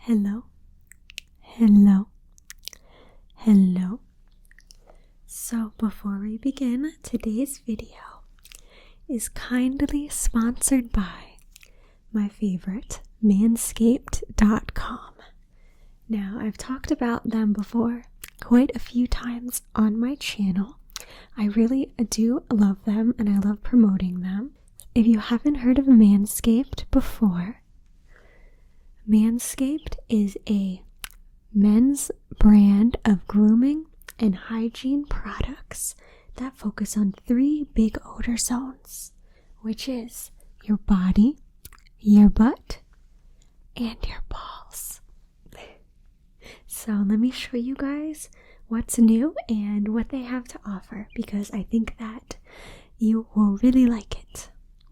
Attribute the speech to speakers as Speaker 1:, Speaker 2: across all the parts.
Speaker 1: Hello, hello, hello. So before we begin, today's video is kindly sponsored by my favorite, Manscaped.com. Now, I've talked about them before quite a few times on my channel. I really do love them and I love promoting them. If you haven't heard of Manscaped before, Manscaped is a men's brand of grooming and hygiene products that focus on 3 big odor zones, which is your body, your butt, and your balls. So let me show you guys what's new and what they have to offer, because I think that you will really like it.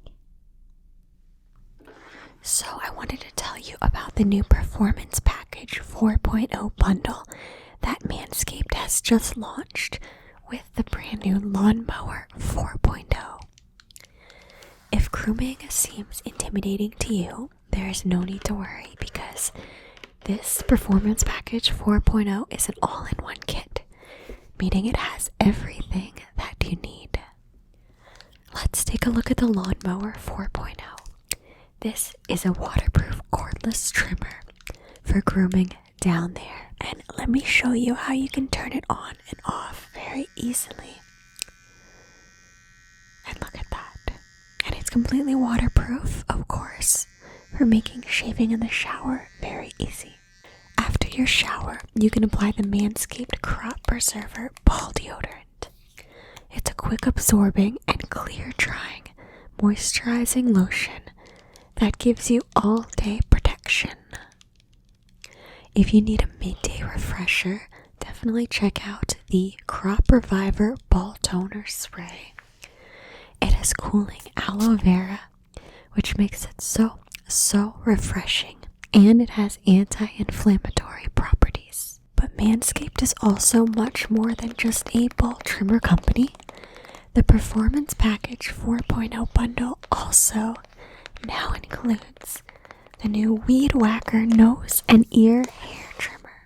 Speaker 1: So I wanted to tell you about the new Performance Package 4.0 bundle that Manscaped has just launched with the brand new Lawnmower 4.0. If grooming seems intimidating to you, there is no need to worry, because this Performance Package 4.0 is an all-in-one kit, meaning it has everything that you need. Let's take a look at the Lawnmower 4.0. This is a waterproof cordless trimmer for grooming down there, and let me show you how you can turn it on and off very easily. And look at that. And it's completely waterproof, of course, for making shaving in the shower very easy. After your shower, you can apply the Manscaped Crop Preserver Ball Deodorant. It's a quick absorbing and clear drying moisturizing lotion that gives you all-day protection. If you need a midday refresher, definitely check out the Crop Reviver Ball Toner Spray. It has cooling aloe vera, which makes it so refreshing, and it has anti-inflammatory properties. But Manscaped is also much more than just a ball trimmer company. The Performance Package 4.0 bundle also now includes the new Weed Whacker nose and ear hair trimmer.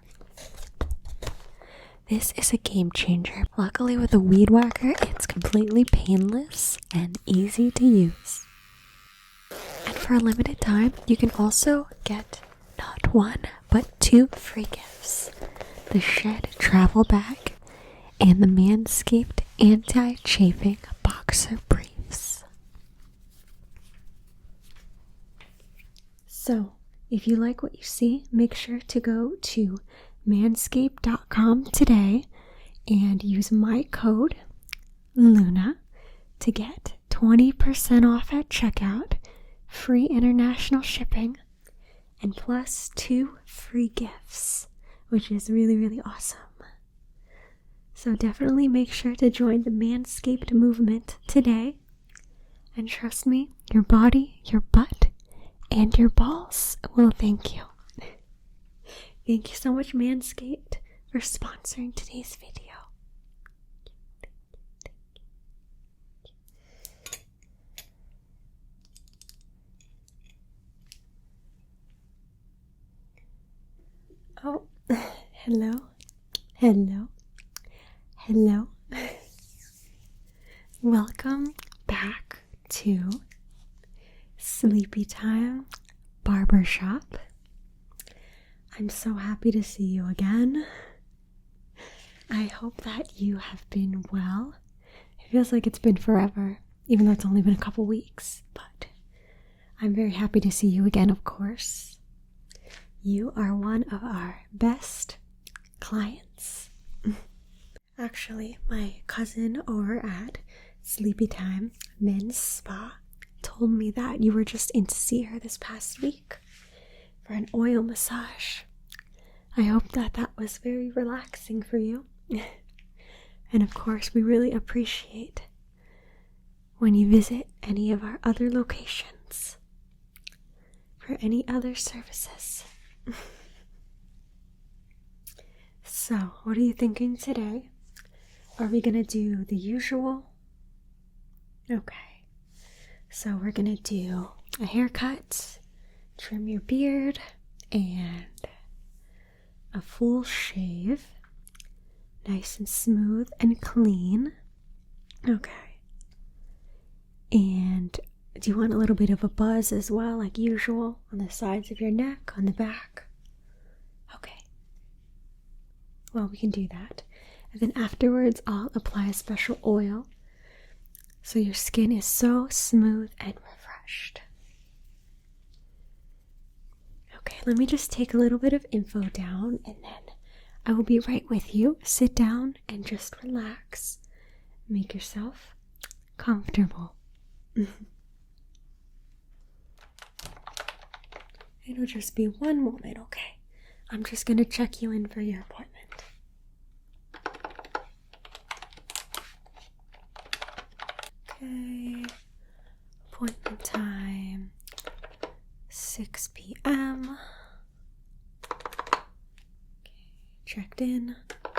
Speaker 1: This is a game changer. Luckily with the Weed Whacker, it's completely painless and easy to use. And for a limited time, you can also get not 1, but 2 free gifts. The Shed Travel Bag and the Manscaped Anti-Chafing Boxer Briefs. So, if you like what you see, make sure to go to manscaped.com today and use my code LUNA to get 20% off at checkout, free international shipping, and plus 2 free gifts, which is really awesome. So definitely make sure to join the Manscaped movement today, and trust me, your body, your butt, and your balls will thank you. Thank you so much, Manscaped, for sponsoring today's video. Oh, hello. Welcome back to Sleepy Time Barbershop. I'm so happy to see you again. I hope that you have been well. It feels like it's been forever, even though it's only been a couple weeks, but I'm very happy to see you again, of course. You are one of our best clients. Actually, my cousin over at Sleepy Time Men's Spa told me that you were just in to see her this past week for an oil massage. I hope that was very relaxing for you. And of course, we really appreciate when you visit any of our other locations for any other services. So, what are you thinking today? Are we gonna do the usual? Okay. So we're gonna do a haircut, trim your beard, and a full shave, nice and smooth and clean. Okay. And do you want a little bit of a buzz as well, like usual, on the sides of your neck, on the back? Okay. Well, we can do that. And then afterwards, I'll apply a special oil so your skin is so smooth and refreshed. Okay, let me just take a little bit of info down and then I will be right with you. Sit down and just relax. Make yourself comfortable. It'll just be one moment, okay? I'm just gonna check you in for your appointment. Okay, appointment time, 6 p.m. Okay, checked in.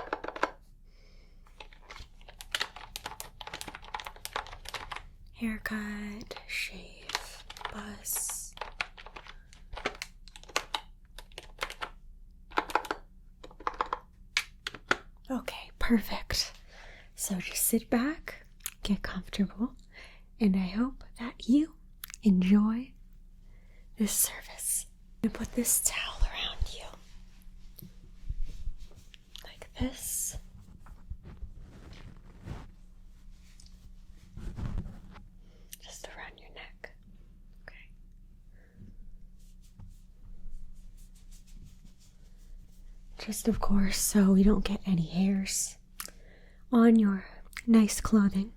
Speaker 1: Haircut, shave, buzz. Okay, perfect. So just sit back, get comfortable, and I hope that you enjoy this service. I'm gonna put this towel around you, like this. Just around your neck, okay? Just of course, so we don't get any hairs on your nice clothing.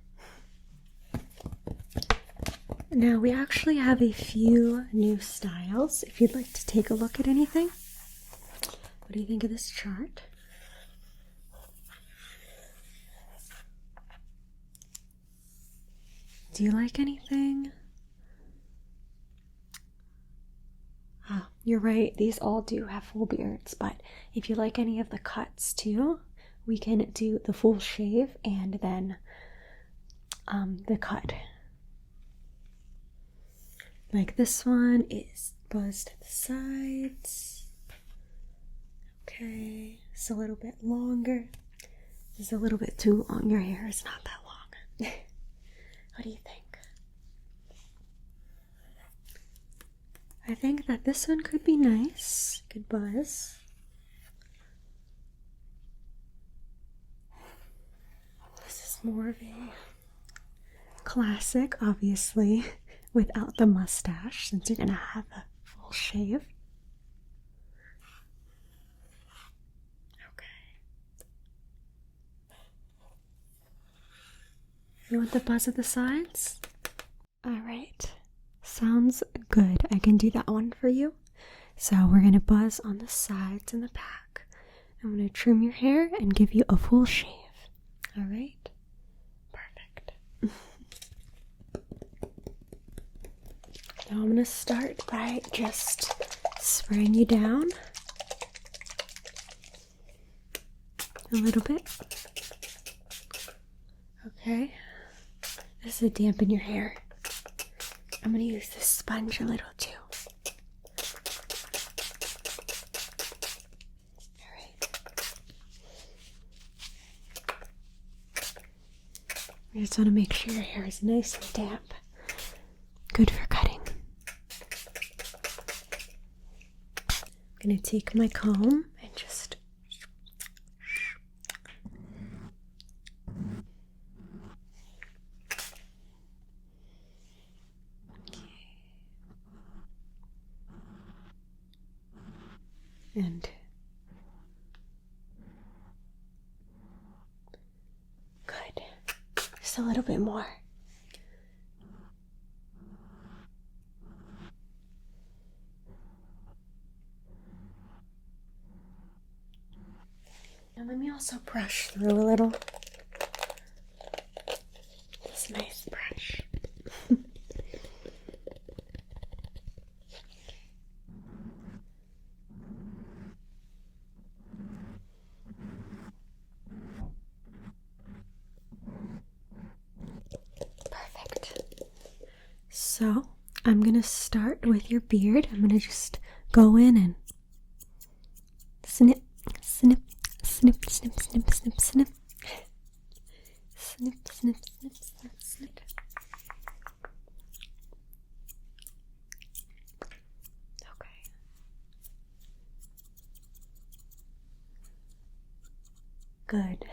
Speaker 1: Now we actually have a few new styles if you'd like to take a look at anything. What do you think of this chart? Do you like anything? Ah, you're right, these all do have full beards, but if you like any of the cuts too, we can do the full shave and then the cut. Like this one is buzzed to the sides. Okay, it's a little bit longer. This is a little bit too long. Your hair is not that long. What do you think? I think that this one could be nice. Good buzz. This is more of a classic, obviously, without the mustache, since you're gonna have a full shave. Okay. You want the buzz at the sides? Alright. Sounds good. I can do that one for you. So we're gonna buzz on the sides and the back. I'm gonna trim your hair and give you a full shave. Alright? Perfect. Now I'm gonna start by just spraying you down a little bit. Okay. This is to dampen your hair. I'm gonna use this sponge a little too. Alright. I just want to make sure your hair is nice and damp. Good for cutting. I'm gonna take my comb and just and good. Just a little bit more. Now let me also brush through a little. This nice brush. Perfect. So I'm gonna start with your beard. I'm gonna just go in and snip, Snip, snip, snip, snip, snip. Snip, snip, snip, snip, snip. Okay. Good.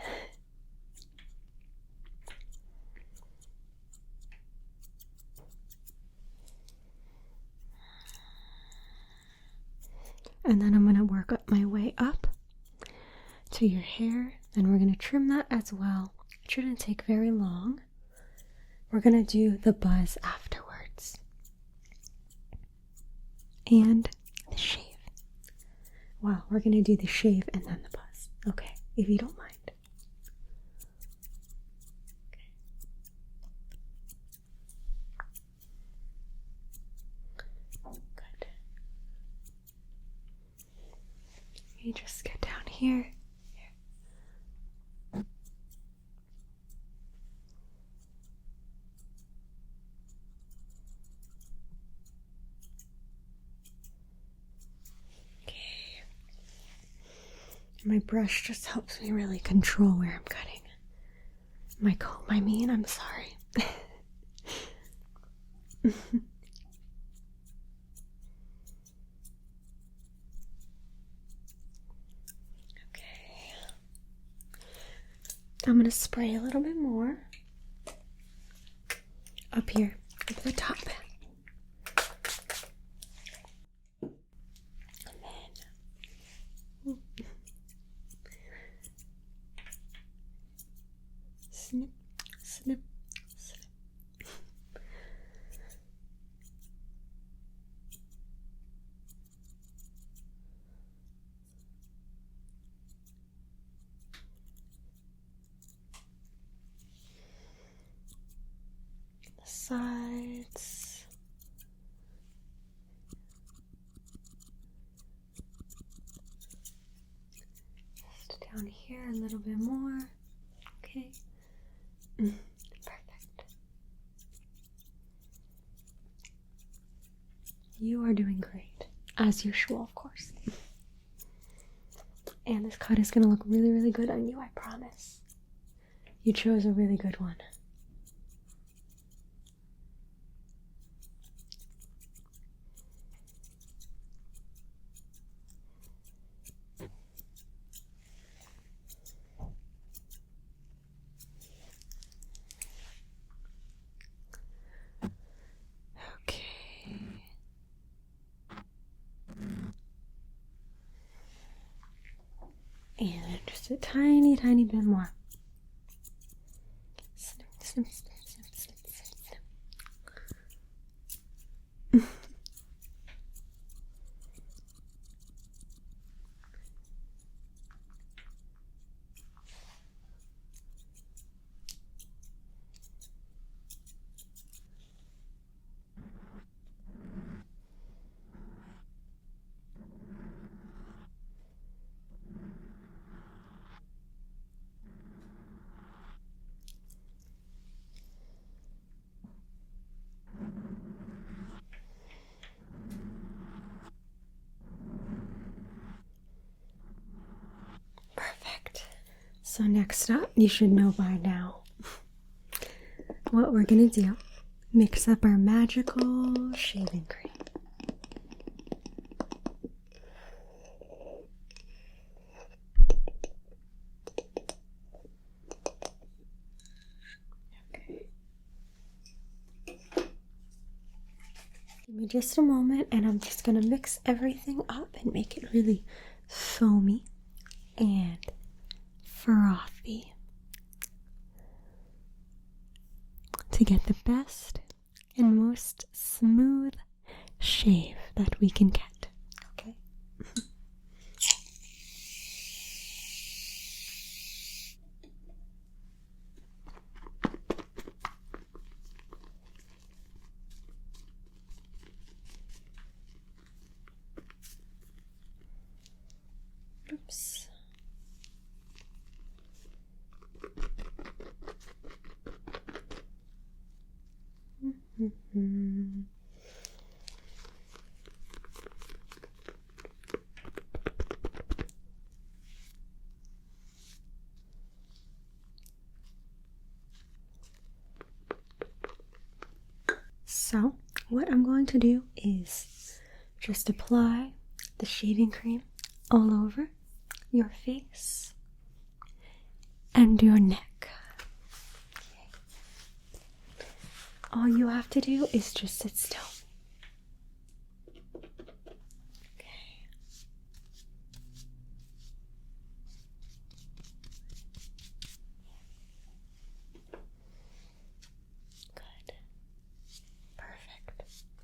Speaker 1: And then I'm going to work up my way up to your hair. Then we're going to trim that as well. It shouldn't take very long. We're going to do the buzz afterwards. And the shave. Wow, we're going to do the shave and then the buzz. Okay, if you don't mind. Good. You just get down here. Okay. My brush just helps me really control where I'm cutting. My comb, I mean, I'm sorry. I'm going to spray a little bit more up here at the top. And then snip, snip, snip. Sides. Just down here a little bit more. Okay. Perfect. You are doing great. As usual, of course. And this cut is going to look really, really good on you, I promise. You chose a really good one. And just a tiny, tiny bit more. Snip, snip, snip, snip, snip, snip, snip. Perfect. So next up, you should know by now what we're gonna do. Mix up our magical shaving cream. Okay. Give me just a moment and I'm just gonna mix everything up and make it really foamy and frothy to get the best and most smooth shave that we can get. Okay. Oops. So, what I'm going to do is just apply the shaving cream all over your face and your neck. Okay. All you have to do is just sit still. Okay. Good. Perfect.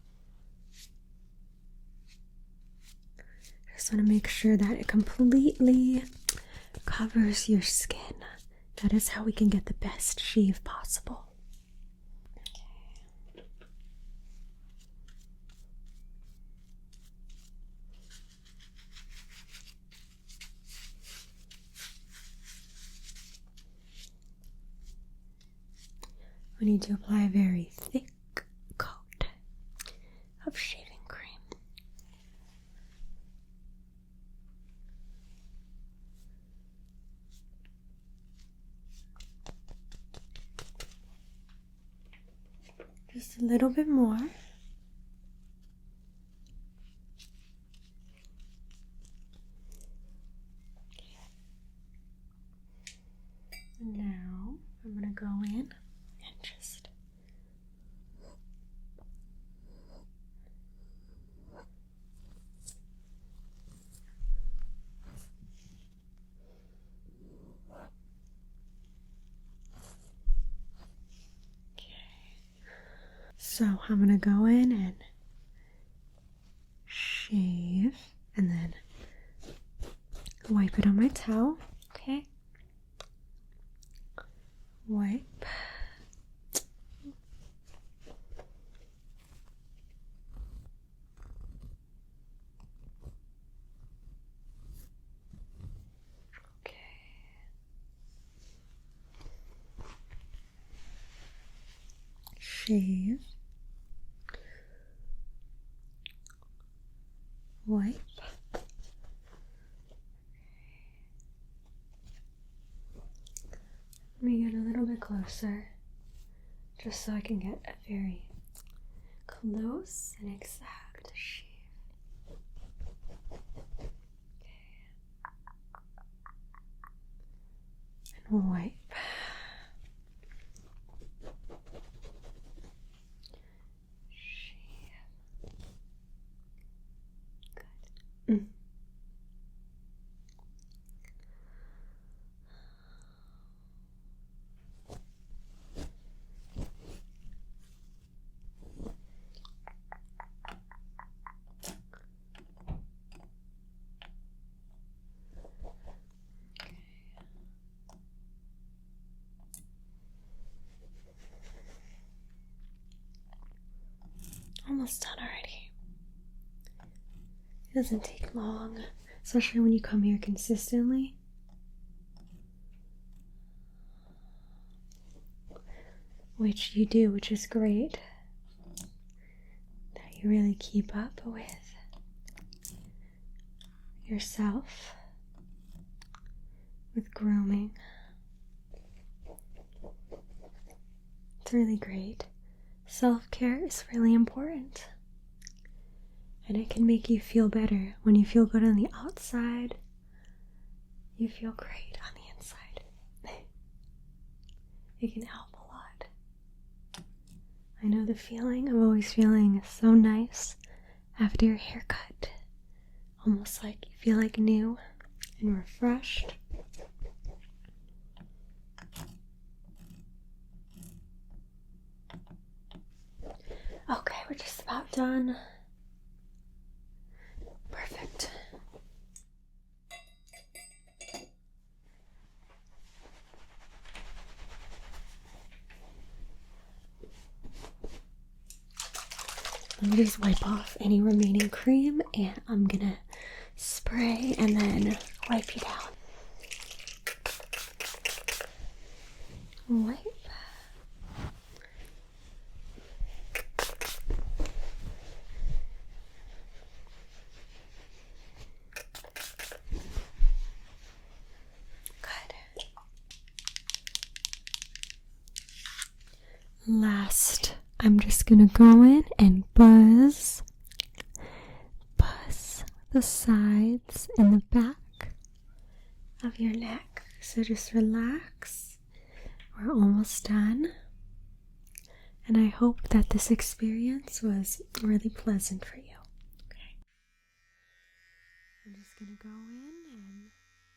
Speaker 1: Just want to make sure that it completely covers your skin. That is how we can get the best shave possible. We need to apply a very thick coat of shaving cream. Just a little bit more. Now I'm going to go in and just so I'm going to go in and shave and then wipe it on my towel. Okay. Wipe. Okay. Shave. Wipe. Let me get a little bit closer, just so I can get a very close and exact shave. Okay. And wipe. Shave. Good. Almost done already. It doesn't take long, especially when you come here consistently. Which you do, which is great. That you really keep up with yourself, with grooming. It's really great. Self-care is really important. And it can make you feel better. When you feel good on the outside, you feel great on the inside. It can help a lot. I know the feeling of always feeling so nice after your haircut. Almost like you feel like new and refreshed. Okay, we're just about done. Perfect. Let me just wipe off any remaining cream and I'm gonna spray and then wipe you down. Wipe. Last I'm just gonna go in and buzz the sides and the back of your neck. So just relax. We're almost done. And I hope that this experience was really pleasant for you. Okay. I'm just gonna go in and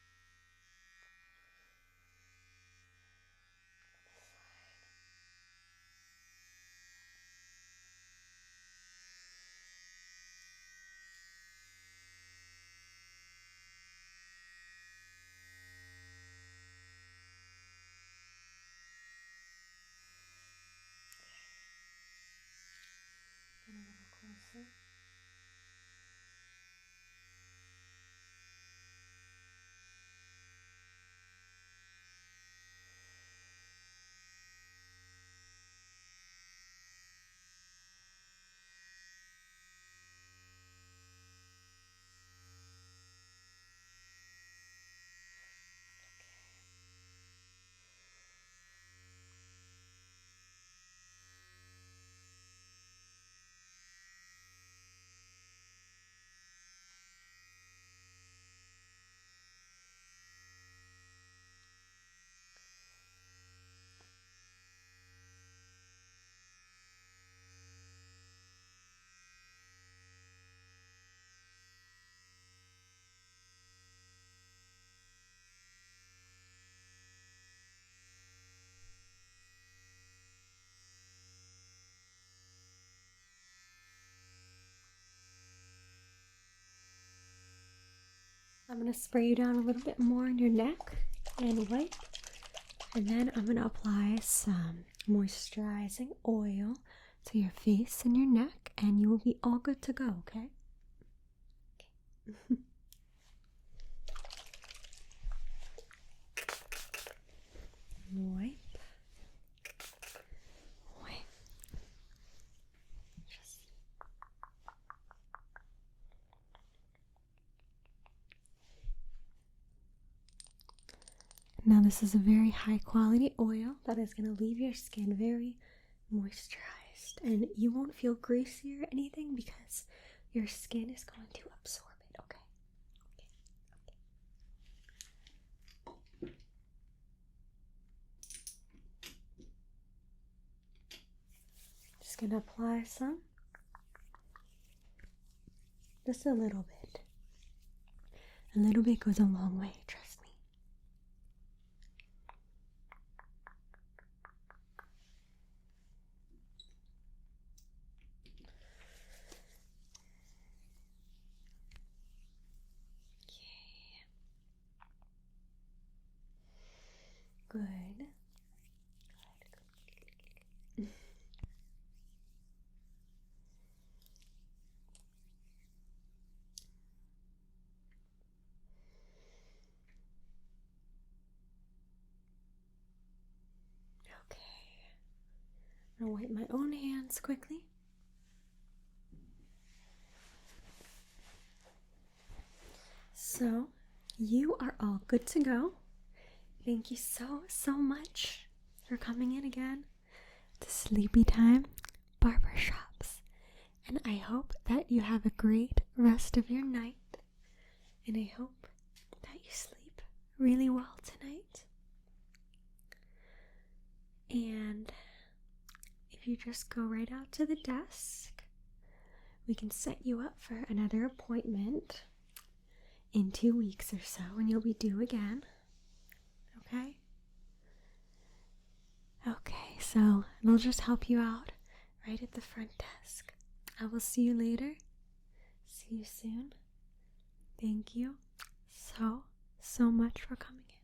Speaker 1: get a little closer. I'm going to spray you down a little bit more on your neck and wipe. And then I'm going to apply some moisturizing oil to your face and your neck, and you will be all good to go, okay? Okay. Wipe. Now this is a very high quality oil that is going to leave your skin very moisturized, and you won't feel greasy or anything because your skin is going to absorb it, okay? Just going to apply some. Just a little bit. A little bit goes a long way, trust me. Good. Good. Okay. I'll wipe my own hands quickly. So, you are all good to go. Thank you so much for coming in again to Sleepy Time Barbershops. And I hope that you have a great rest of your night. And I hope that you sleep really well tonight. And if you just go right out to the desk, we can set you up for another appointment in 2 weeks or so, and you'll be due again. Okay? Okay, so they'll just help you out right at the front desk. I will see you later. See you soon. Thank you so much for coming in.